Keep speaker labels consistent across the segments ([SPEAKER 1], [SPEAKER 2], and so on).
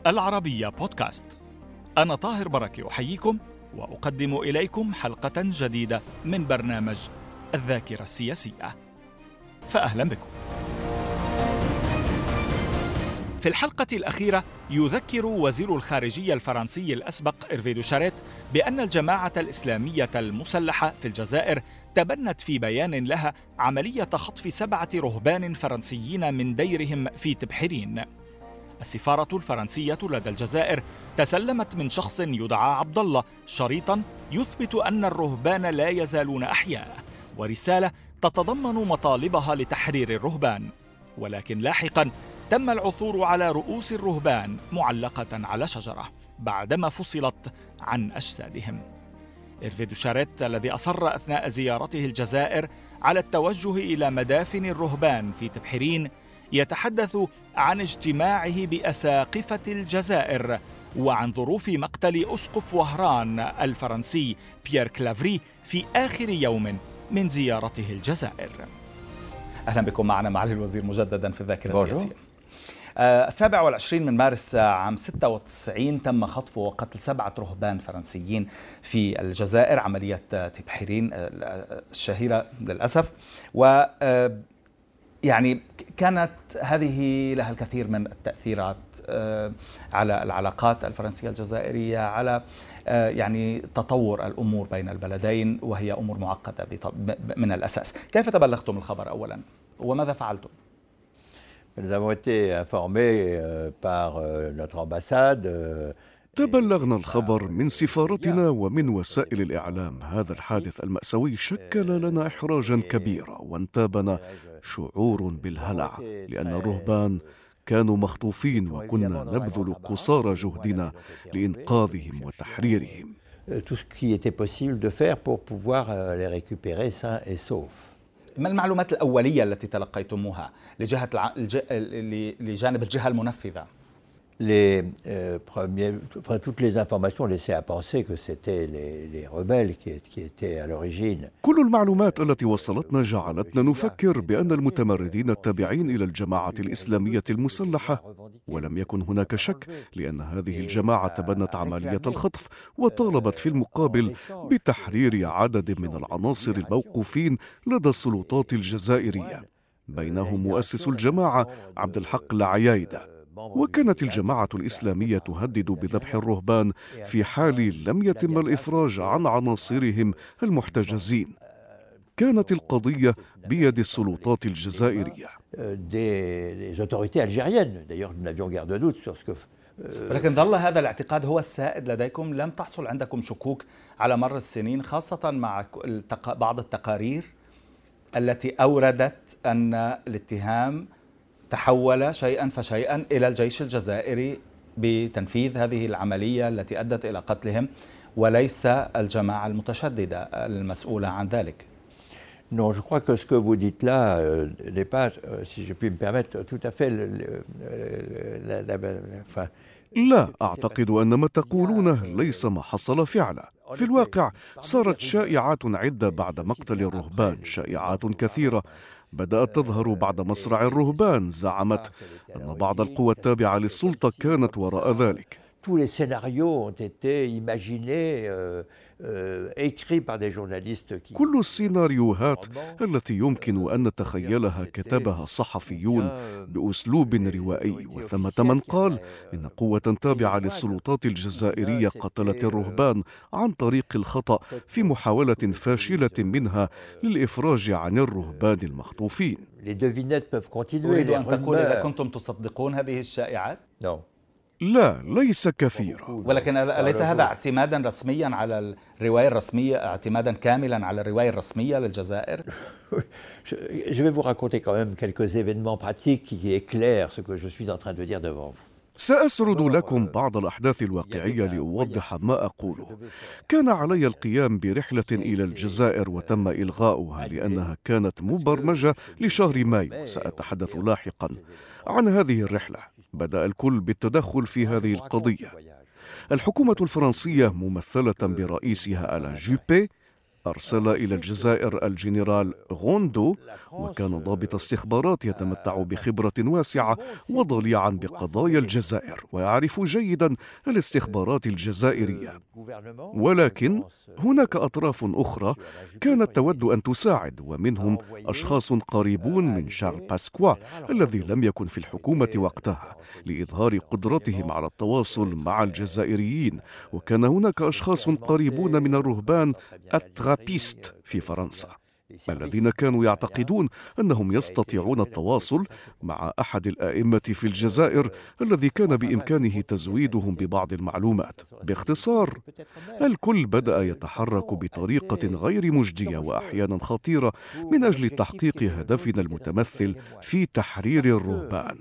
[SPEAKER 1] العربية بودكاست. أنا طاهر بركة أحييكم وأقدم إليكم حلقة جديدة من برنامج الذاكرة السياسية، فأهلا بكم. في الحلقة الأخيرة يذكر وزير الخارجية الفرنسي الأسبق إيرفي دوشاريت بأن الجماعة الإسلامية المسلحة في الجزائر تبنت في بيان لها عملية خطف 7 رهبان فرنسيين من ديرهم في تبحرين. السفارة الفرنسية لدى الجزائر تسلمت من شخص يدعى عبد الله شريطا يثبت أن الرهبان لا يزالون أحياء، ورسالة تتضمن مطالبها لتحرير الرهبان. ولكن لاحقا تم العثور على رؤوس الرهبان معلقة على شجرة بعدما فصلت عن أجسادهم. إيرفي دوشاريت الذي أصر أثناء زيارته الجزائر على التوجه إلى مدافن الرهبان في تبحرين يتحدث عن اجتماعه بأساقفة الجزائر وعن ظروف مقتل أسقف وهران الفرنسي بيير كلافري في آخر يوم من زيارته الجزائر. أهلا بكم معنا معالي الوزير مجددا في الذاكرة السياسية. 27 من مارس عام 96 تم خطف وقتل 7 رهبان فرنسيين في الجزائر، عملية تبحرين الشهيرة للأسف. و يعني كانت هذه لها الكثير من التأثيرات على العلاقات الفرنسية الجزائرية، على يعني تطور الأمور بين البلدين، وهي أمور معقدة من الأساس. كيف تبلغتم الخبر أولا وماذا فعلتم؟
[SPEAKER 2] تبلغنا الخبر من سفارتنا ومن وسائل الإعلام. هذا الحادث المأساوي شكل لنا إحراجا كبيرا وانتابنا شعور بالهلع، لأن الرهبان كانوا مخطوفين وكنا نبذل قصارى جهدنا لإنقاذهم وتحريرهم.
[SPEAKER 1] ما المعلومات الأولية التي تلقيتموها لجانب الجهة المنفذة؟
[SPEAKER 3] Toutes les informations laissaient à penser que c'était les rebelles qui étaient à l'origine.
[SPEAKER 2] كل المعلومات التي وصلتنا جعلتنا نفكر بأن المتمردين التابعين إلى الجماعة الإسلامية المسلحة، ولم يكن هناك شك لأن هذه الجماعة تبنت عملية الخطف وطالبت في المقابل بتحرير عدد من العناصر الموقوفين لدى السلطات الجزائرية، بينهم مؤسس الجماعة عبد الحق العيايدة. وكانت الجماعة الإسلامية تهدد بذبح الرهبان في حال لم يتم الإفراج عن عناصرهم المحتجزين. كانت القضية بيد السلطات الجزائرية.
[SPEAKER 1] ولكن ظل هذا الاعتقاد هو السائد لديكم؟ لم تحصل عندكم شكوك على مر السنين، خاصة مع بعض التقارير التي أوردت أن الاتهام تحول شيئا فشيئا إلى الجيش الجزائري بتنفيذ هذه العملية التي أدت إلى قتلهم، وليس الجماعة المتشددة المسؤولة عن ذلك؟
[SPEAKER 3] Non, je crois que ce que vous dites là n'est pas, si je puis me permettre, tout à fait
[SPEAKER 2] لا أعتقد أن ما تقولونه ليس ما حصل فعلا. في الواقع صارت شائعات عدة بعد مقتل الرهبان، شائعات كثيرة بدأت تظهر بعد مصرع الرهبان زعمت أن بعض القوى التابعة للسلطة كانت وراء ذلك. كل السيناريوهات التي يمكن أن نتخيلها كتبها صحفيون بأسلوب روائي، وثمة من قال إن قوة تابعة للسلطات الجزائرية قتلت الرهبان عن طريق الخطأ في محاولة فاشلة منها للإفراج عن الرهبان المخطوفين.
[SPEAKER 1] أريد أن تقول إذا كنتم تصدقون هذه الشائعات؟
[SPEAKER 2] لا، ليس كثيرا.
[SPEAKER 1] ولكن أليس هذا اعتمادا رسميا على الرواية الرسمية، اعتمادا كاملا على الرواية الرسمية للجزائر؟
[SPEAKER 3] Je vais vous raconter quand même quelques événements pratiques qui éclairent ce que je suis en train de dire devant vous.
[SPEAKER 2] سأسرد لكم بعض الأحداث الواقعية لأوضح ما أقوله. كان علي القيام برحلة إلى الجزائر وتم إلغاؤها لأنها كانت مبرمجة لشهر مايو. سأتحدث لاحقا عن هذه الرحلة. بدأ الكل بالتدخل في هذه القضية. الحكومة الفرنسية ممثلة برئيسها ألان جوبي أرسل إلى الجزائر الجنرال غوندو، وكان ضابط استخبارات يتمتع بخبرة واسعة وضليعا بقضايا الجزائر ويعرف جيدا الاستخبارات الجزائرية. ولكن هناك أطراف أخرى كانت تود أن تساعد، ومنهم أشخاص قريبون من شارل باسكوا الذي لم يكن في الحكومة وقتها، لإظهار قدرتهم على التواصل مع الجزائريين. وكان هناك أشخاص قريبون من الرهبان الترابيست في فرنسا الذين كانوا يعتقدون أنهم يستطيعون التواصل مع أحد الآئمة في الجزائر الذي كان بإمكانه تزويدهم ببعض المعلومات. باختصار، الكل بدأ يتحرك بطريقة غير مجدية وأحيانا خطيرة من أجل تحقيق هدفنا المتمثل في تحرير الرهبان.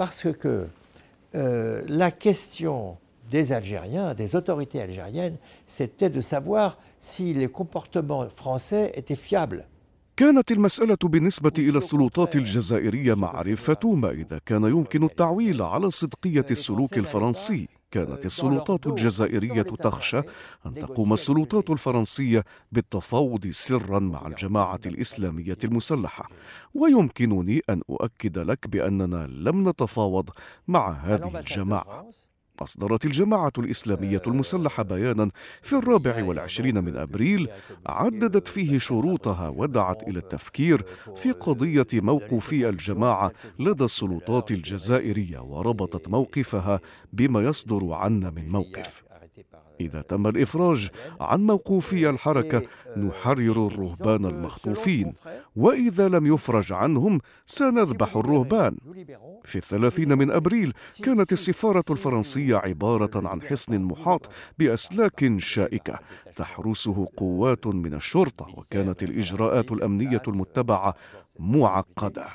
[SPEAKER 3] La question des Algériens, des autorités algériennes, c'était de savoir si les comportements français étaient fiables.
[SPEAKER 2] كانت المسألة بالنسبة إلى السلطات الجزائرية معرفة ما إذا كان يمكن التعويل على صدقية السلوك الفرنسي. كانت السلطات الجزائرية تخشى أن تقوم السلطات الفرنسية بالتفاوض سرا مع الجماعة الإسلامية المسلحة، ويمكنني أن أؤكد لك بأننا لم نتفاوض مع هذه الجماعة. أصدرت الجماعة الإسلامية المسلحة بيانا في 24 من أبريل عددت فيه شروطها ودعت إلى التفكير في قضية موقوفي الجماعة لدى السلطات الجزائرية، وربطت موقفها بما يصدر عنا من موقف. إذا تم الإفراج عن موقوفي الحركة نحرر الرهبان المخطوفين، وإذا لم يفرج عنهم سنذبح الرهبان. في 30 من أبريل كانت السفارة الفرنسية عبارة عن حصن محاط بأسلاك شائكة تحرسه قوات من الشرطة، وكانت الإجراءات الأمنية المتبعة معقدة.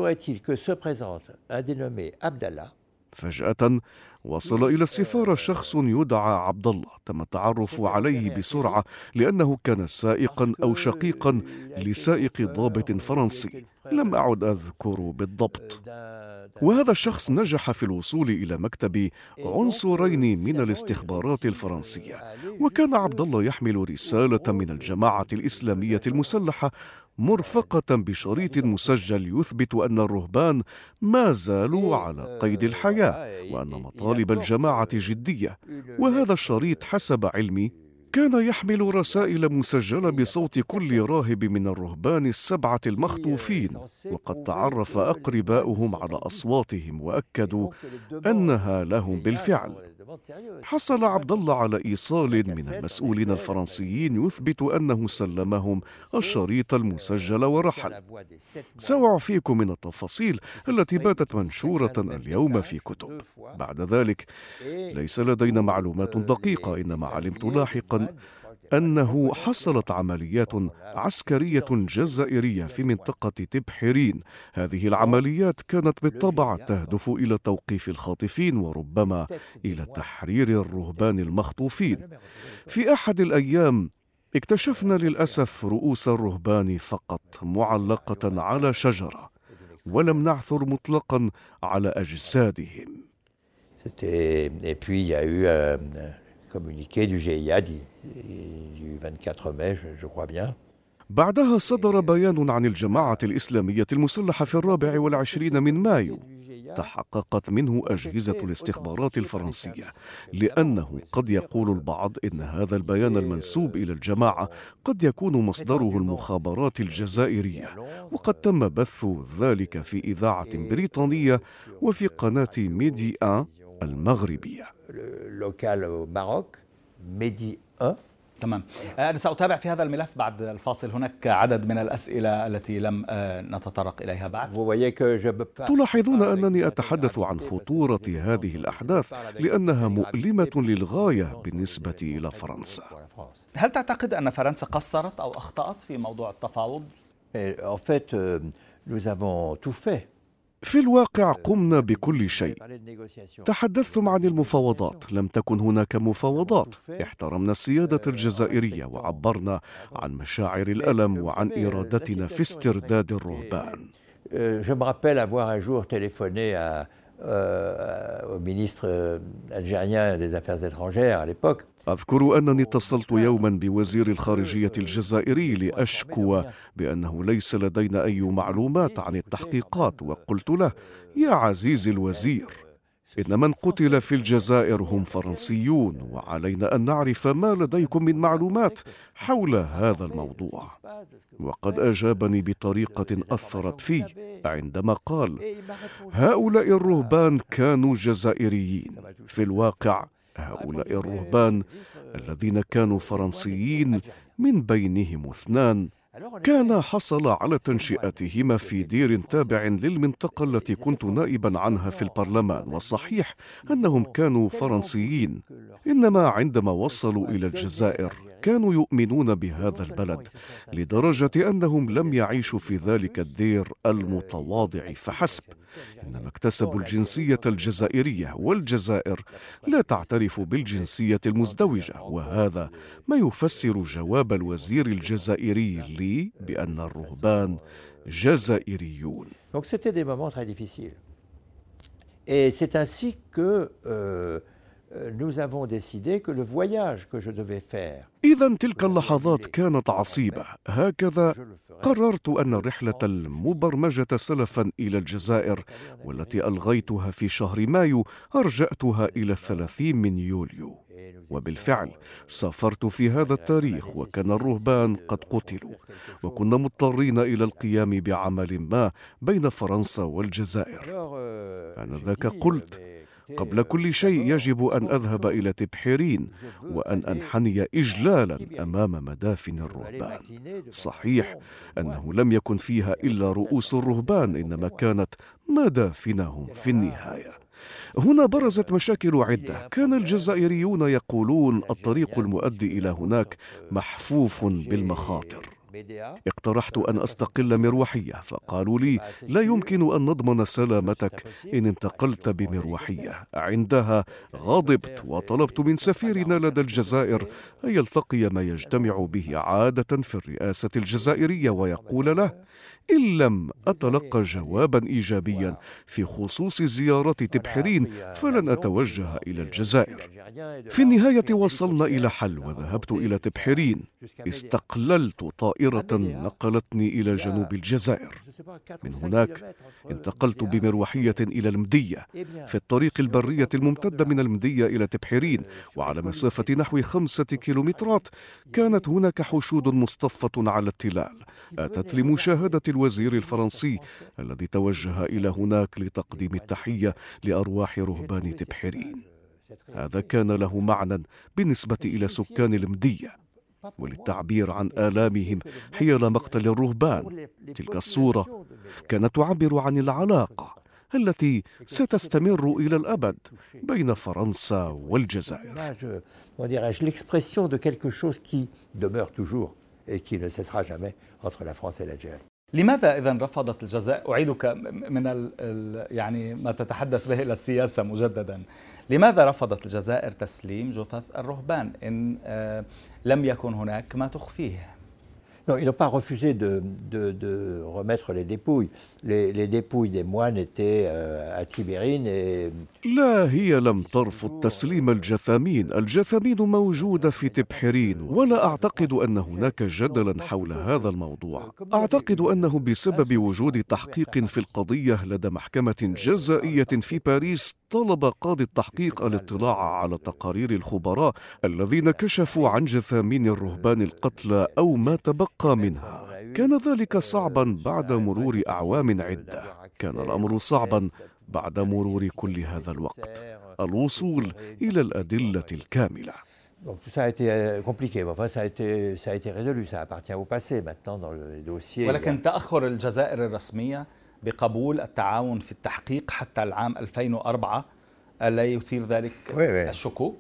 [SPEAKER 2] فجأة وصل إلى السفارة شخص يدعى عبد الله، تم التعرف عليه بسرعة لأنه كان سائقا أو شقيقا لسائق ضابط فرنسي، لم أعد أذكر بالضبط. وهذا الشخص نجح في الوصول إلى مكتب عنصرين من الاستخبارات الفرنسية، وكان عبد الله يحمل رسالة من الجماعة الإسلامية المسلحة مرفقة بشريط مسجل يثبت أن الرهبان ما زالوا على قيد الحياة وأن مطالب الجماعة جدية. وهذا الشريط حسب علمي كان يحمل رسائل مسجلة بصوت كل راهب من الرهبان ال7 المخطوفين، وقد تعرف أقرباؤهم على أصواتهم وأكدوا أنها لهم بالفعل. حصل عبد الله على إيصال من المسؤولين الفرنسيين يثبت أنه سلمهم الشريط المسجل ورحل. سأعفيكم من التفاصيل التي باتت منشورة اليوم في كتب. بعد ذلك ليس لدينا معلومات دقيقة، إنما علمت لاحقا أنه حصلت عمليات عسكرية جزائرية في منطقة تبحرين. هذه العمليات كانت بالطبع تهدف إلى توقيف الخاطفين وربما إلى تحرير الرهبان المخطوفين. في أحد الأيام اكتشفنا للأسف رؤوس الرهبان فقط معلقة على شجرة، ولم نعثر مطلقا على أجسادهم. communiqué du GIA du 24 mai, je crois bien. بعدها صدر بيان عن الجماعة الإسلامية المسلحة في 24 من مايو، تحققت منه أجهزة الاستخبارات الفرنسية، لأنه قد يقول البعض إن هذا البيان المنسوب إلى الجماعة قد يكون مصدره المخابرات الجزائرية، وقد تم بث ذلك في إذاعة بريطانية وفي قناة ميدي 1 المغربية.
[SPEAKER 1] تمام. أنا سأتابع في هذا الملف بعد الفاصل. هناك عدد من الأسئلة التي لم نتطرق إليها بعد.
[SPEAKER 2] تلاحظون أنني أتحدث عن خطورة هذه الأحداث لأنها مؤلمة للغاية بالنسبة إلى فرنسا.
[SPEAKER 1] هل تعتقد أن فرنسا قصرت أو أخطأت في موضوع التفاوض؟
[SPEAKER 2] في الواقع قمنا بكل شيء. تحدثتم عن المفاوضات، لم تكن هناك مفاوضات. احترمنا السيادة الجزائرية وعبرنا عن مشاعر الألم وعن إرادتنا في استرداد الرهبان.
[SPEAKER 3] au ministre algérien des Affaires étrangères à l'époque.
[SPEAKER 2] أذكر أنني اتصلت يوما بوزير الخارجية الجزائري لأشكو بأنه ليس لدينا أي معلومات عن التحقيقات، وقلت له: يا عزيزي الوزير، إن من قتل في الجزائر هم فرنسيون، وعلينا أن نعرف ما لديكم من معلومات حول هذا الموضوع. وقد أجابني بطريقة أثرت في عندما قال: هؤلاء الرهبان كانوا جزائريين. في الواقع هؤلاء الرهبان الذين كانوا فرنسيين من بينهم 2 كان حصل على تنشئتهما في دير تابع للمنطقة التي كنت نائبا عنها في البرلمان، وصحيح أنهم كانوا فرنسيين، إنما عندما وصلوا إلى الجزائر كانوا يؤمنون بهذا البلد لدرجة أنهم لم يعيشوا في ذلك الدير المتواضع فحسب، إنما اكتسبوا الجنسية الجزائرية، والجزائر لا تعترف بالجنسية المزدوجة، وهذا ما يفسر جواب الوزير الجزائري لي بأن الرهبان جزائريون.
[SPEAKER 3] Donc c'était des moments très difficiles. Et c'est ainsi que nous avons décidé que le voyage que je devais faire.
[SPEAKER 2] إذن تلك اللحظات كانت عصيبة. هكذا قررت أن الرحلة المبرمجة سلفا إلى الجزائر والتي ألغيتها في شهر مايو أرجأتها إلى 30 من يوليو. وبالفعل سافرت في هذا التاريخ وكان الرهبان قد قتلوا، وكنا مضطرين إلى القيام بعمل ما بين فرنسا والجزائر. آنذاك قلت: قبل كل شيء يجب أن أذهب إلى تبحيرين وأن أنحني إجلالا أمام مدافن الرهبان. صحيح أنه لم يكن فيها إلا رؤوس الرهبان، إنما كانت مدافنهم في النهاية. هنا برزت مشاكل عدة. كان الجزائريون يقولون الطريق المؤدي إلى هناك محفوف بالمخاطر. اقترحت أن أستقل مروحية، فقالوا لي: لا يمكن أن نضمن سلامتك إن انتقلت بمروحية. عندها غضبت وطلبت من سفيرنا لدى الجزائر أن يلتقي ما يجتمع به عادة في الرئاسة الجزائرية ويقول له: إن لم أتلقى جوابا إيجابيا في خصوص زيارة تبحرين فلن أتوجه إلى الجزائر. في النهاية وصلنا إلى حل وذهبت إلى تبحرين. استقللت طائرة نقلتني إلى جنوب الجزائر. من هناك انتقلت بمروحية إلى المدية في الطريق البرية الممتدة من المدية إلى تبحرين، وعلى مسافة نحو 5 كيلومترات كانت هناك حشود مصطفة على التلال أتت لمشاهدة الوزير الفرنسي الذي توجه إلى هناك لتقديم التحية لأرواح رهبان تبحرين. هذا كان له معنى بالنسبة إلى سكان المدية وللتعبير عن آلامهم حيال مقتل الرهبان. تلك الصورة كانت تعبر عن العلاقة التي ستستمر إلى الأبد بين فرنسا والجزائر.
[SPEAKER 3] L'expression de quelque chose qui demeure toujours et qui ne cessera jamais entre la France et l'Algérie.
[SPEAKER 1] لماذا إذن رفضت الجزائر؟ أعيدك من يعني ما تتحدث به إلى السياسة مجددا. لماذا رفضت الجزائر تسليم جثث الرهبان إن لم يكن هناك ما تخفيه؟
[SPEAKER 3] Non, ils n'ont pas refusé de remettre les dépouilles. Les dépouilles des moines étaient à Tibérine et...
[SPEAKER 2] لا، هي لم ترفض تسليم الجثامين. الجثامين موجودة في تبحرين، ولا أعتقد أن هناك جدلا حول هذا الموضوع. أعتقد أنه بسبب وجود تحقيق في القضية لدى محكمة جزائية في باريس طلب قاضي التحقيق الاطلاع على تقارير الخبراء الذين كشفوا عن جثامين الرهبان القتلى أو ما تبقى منها. كان ذلك صعبا بعد مرور أعوام عدة. كان الأمر صعبا بعد مرور كل هذا الوقت الوصول إلى الأدلة الكاملة.
[SPEAKER 3] Donc tout ça a été compliqué, mais enfin ça a été résolu, ça appartient au passé maintenant dans les dossiers.
[SPEAKER 1] ولكن تأخر الجزائر الرسمية بقبول التعاون في التحقيق حتى العام 2004 ألا يثير ذلك الشكوك؟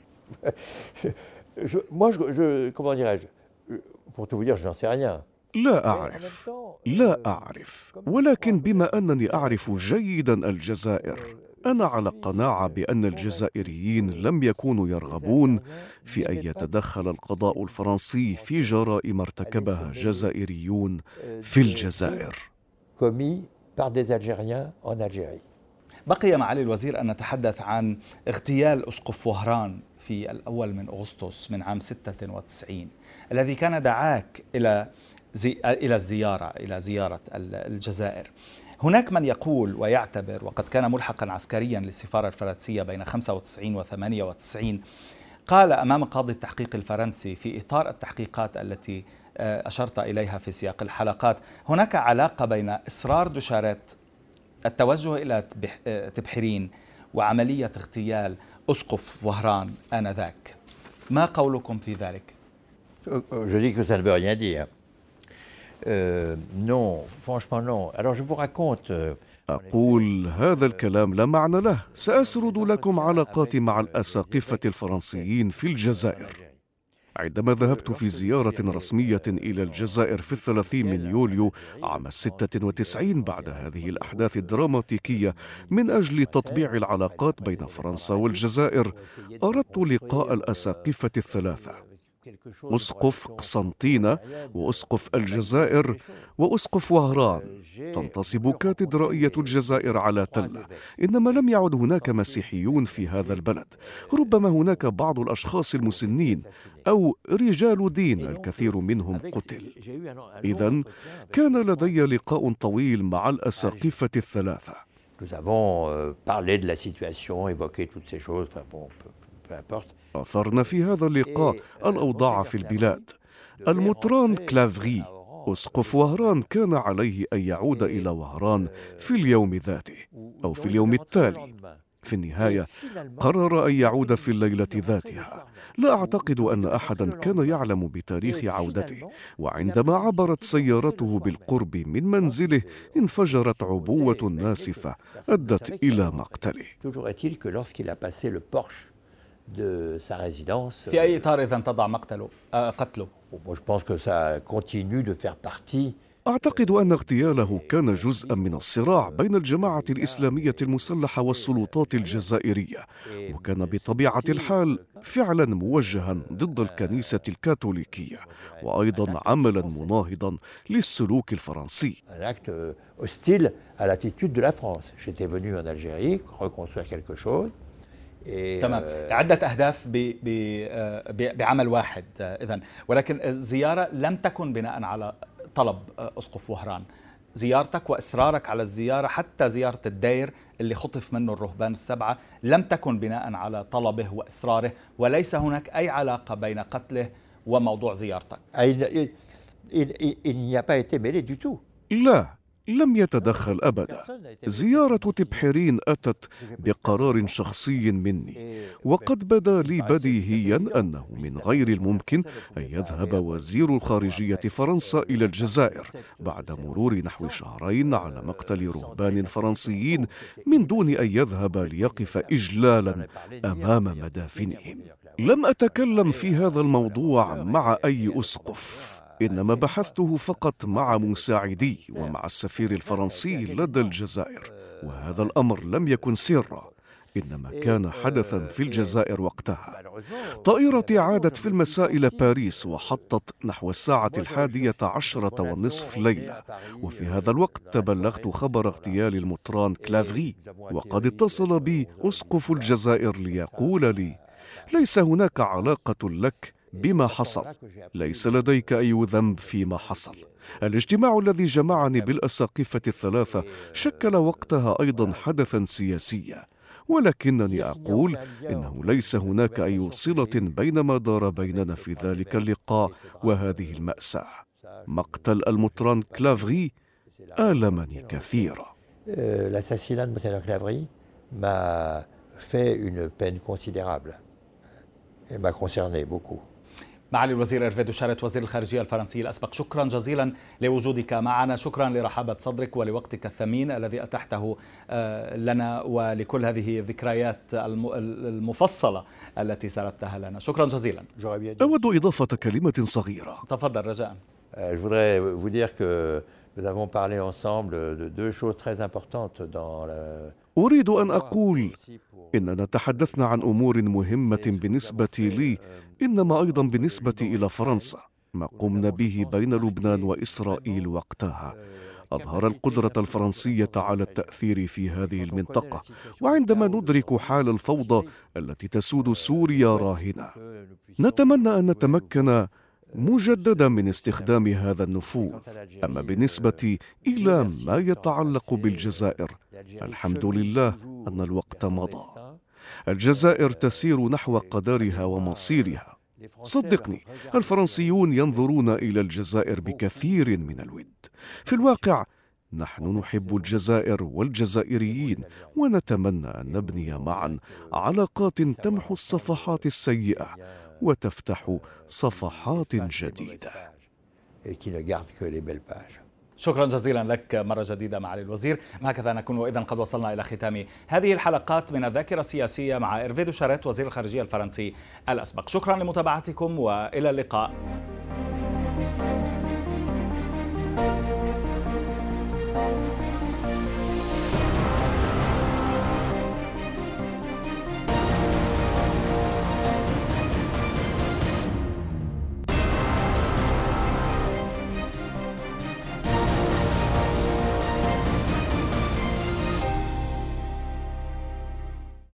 [SPEAKER 3] Moi, comment dirais-je, pour tout vous dire, je n'en sais rien.
[SPEAKER 2] لا أعرف، ولكن بما أنني أعرف جيدا الجزائر أنا على قناعة بأن الجزائريين لم يكونوا يرغبون في أن يتدخل القضاء الفرنسي في جرائم ارتكبها جزائريون في الجزائر.
[SPEAKER 1] بقي معالي الوزير أن نتحدث عن اغتيال أسقف وهران في الأول من أغسطس من عام 96 الذي كان دعاك إلى زيارة الجزائر. هناك من يقول ويعتبر، وقد كان ملحقا عسكريا للسفارة الفرنسية بين 95 و 98، قال أمام قاضي التحقيق الفرنسي في إطار التحقيقات التي أشرت إليها في سياق الحلقات: هناك علاقة بين إصرار دوشاريت التوجه إلى تبحرين وعملية اغتيال أسقف وهران آنذاك. ما قولكم في ذلك؟
[SPEAKER 3] Je dis que ça ne veut rien dire. Non, franchement non. Alors je vous raconte.
[SPEAKER 2] أقول هذا الكلام لا معنى له. سأسرد لكم علاقاتي مع الأساقفة الفرنسيين في الجزائر. عندما ذهبت في زيارة رسمية إلى الجزائر في 30 من يوليو عام 96 بعد هذه الأحداث الدراماتيكية من أجل تطبيع العلاقات بين فرنسا والجزائر، أردت لقاء الأساقفة الثلاثة: أسقف قسنطينة، وأسقف الجزائر، وأسقف وهران. تنتصب كاتدرائية الجزائر على تلة. إنما لم يعد هناك مسيحيون في هذا البلد، ربما هناك بعض الأشخاص المسنين أو رجال دين، الكثير منهم قتل. إذن كان لدي لقاء طويل مع الأساقفة الثلاثة. أثرنا في هذا اللقاء الأوضاع في البلاد. المطران كلافغي أسقف وهران كان عليه أن يعود إلى وهران في اليوم ذاته أو في اليوم التالي. في النهاية قرر أن يعود في الليلة ذاتها. لا أعتقد أن أحدا كان يعلم بتاريخ عودته، وعندما عبرت سيارته بالقرب من منزله انفجرت عبوة ناسفة أدت إلى مقتله.
[SPEAKER 1] في أي إطار إذن تضع قتله؟
[SPEAKER 2] أعتقد أن اغتياله كان جزءا من الصراع بين الجماعة الإسلامية المسلحة والسلطات الجزائرية، وكان بطبيعة الحال فعلا موجها ضد الكنيسة الكاثوليكية، وأيضا عملا مناهضا للسلوك الفرنسي.
[SPEAKER 1] تمام، عدة أهداف بعمل واحد إذن، ولكن الزيارة لم تكن بناء على طلب أسقف وهران. زيارتك وإصرارك على الزيارة، حتى زيارة الدير اللي خطف منه الرهبان السبعة، لم تكن بناء على طلبه وإصراره، وليس هناك أي علاقة بين قتله وموضوع زيارتك.
[SPEAKER 2] لا، لم يتدخل أبدا. زيارة تبحرين أتت بقرار شخصي مني، وقد بدا لي بديهيا أنه من غير الممكن أن يذهب وزير الخارجية فرنسا إلى الجزائر بعد مرور نحو شهرين على مقتل رهبان فرنسيين من دون أن يذهب ليقف إجلالا أمام مدافنهم. لم أتكلم في هذا الموضوع مع أي أسقف، إنما بحثته فقط مع مساعدي ومع السفير الفرنسي لدى الجزائر، وهذا الأمر لم يكن سرا، إنما كان حدثا في الجزائر وقتها. طائرتي عادت في المساء إلى باريس وحطت نحو 11:10 ليلة، وفي هذا الوقت تبلغت خبر اغتيال المطران كلافغي، وقد اتصل بي أسقف الجزائر ليقول لي: ليس هناك علاقة لك بما حصل، ليس لديك أي ذنب فيما حصل. الاجتماع الذي جمعني بالأساقفة الثلاثة شكل وقتها أيضا حدثا سياسيا، ولكنني أقول إنه ليس هناك أي صلة بين ما دار بيننا في ذلك اللقاء وهذه المأساة. مقتل المطران كلافغي آلمني كثيرا.
[SPEAKER 3] L'assassinat de M. Clavry m'a fait une peine considérable et m'a concerné beaucoup.
[SPEAKER 1] معالي الوزير إرفي دوشاريت وزير الخارجية الفرنسي الأسبق، شكرا جزيلا لوجودك معنا، شكرا لرحابة صدرك ولوقتك الثمين الذي أتحته لنا ولكل هذه الذكريات المفصلة التي سردتها لنا. شكرا جزيلا.
[SPEAKER 2] أود إضافة كلمة صغيرة.
[SPEAKER 1] تفضل رجاء.
[SPEAKER 3] Je voudrais vous dire que nous avons parlé ensemble de deux choses très importantes dans la...
[SPEAKER 2] أريد أن أقول إننا تحدثنا عن أمور مهمة بالنسبة لي، إنما أيضا بالنسبة إلى فرنسا، ما قمنا به بين لبنان وإسرائيل وقتها. أظهر القدرة الفرنسية على التأثير في هذه المنطقة. وعندما ندرك حال الفوضى التي تسود سوريا راهنة، نتمنى أن نتمكن مجددا من استخدام هذا النفوذ. أما بالنسبة إلى ما يتعلق بالجزائر، الحمد لله أن الوقت مضى. الجزائر تسير نحو قدرها ومصيرها. صدقني، الفرنسيون ينظرون إلى الجزائر بكثير من الود. في الواقع نحن نحب الجزائر والجزائريين، ونتمنى أن نبني معا علاقات تمحو الصفحات السيئة وتفتح صفحات جديدة.
[SPEAKER 1] شكرا جزيلا لك مرة جديدة معالي الوزير. هكذا نكون وإذا قد وصلنا إلى ختام هذه الحلقات من الذاكرة السياسية مع إيرفي دوشاريت وزير الخارجية الفرنسي الأسبق. شكرا لمتابعتكم وإلى اللقاء.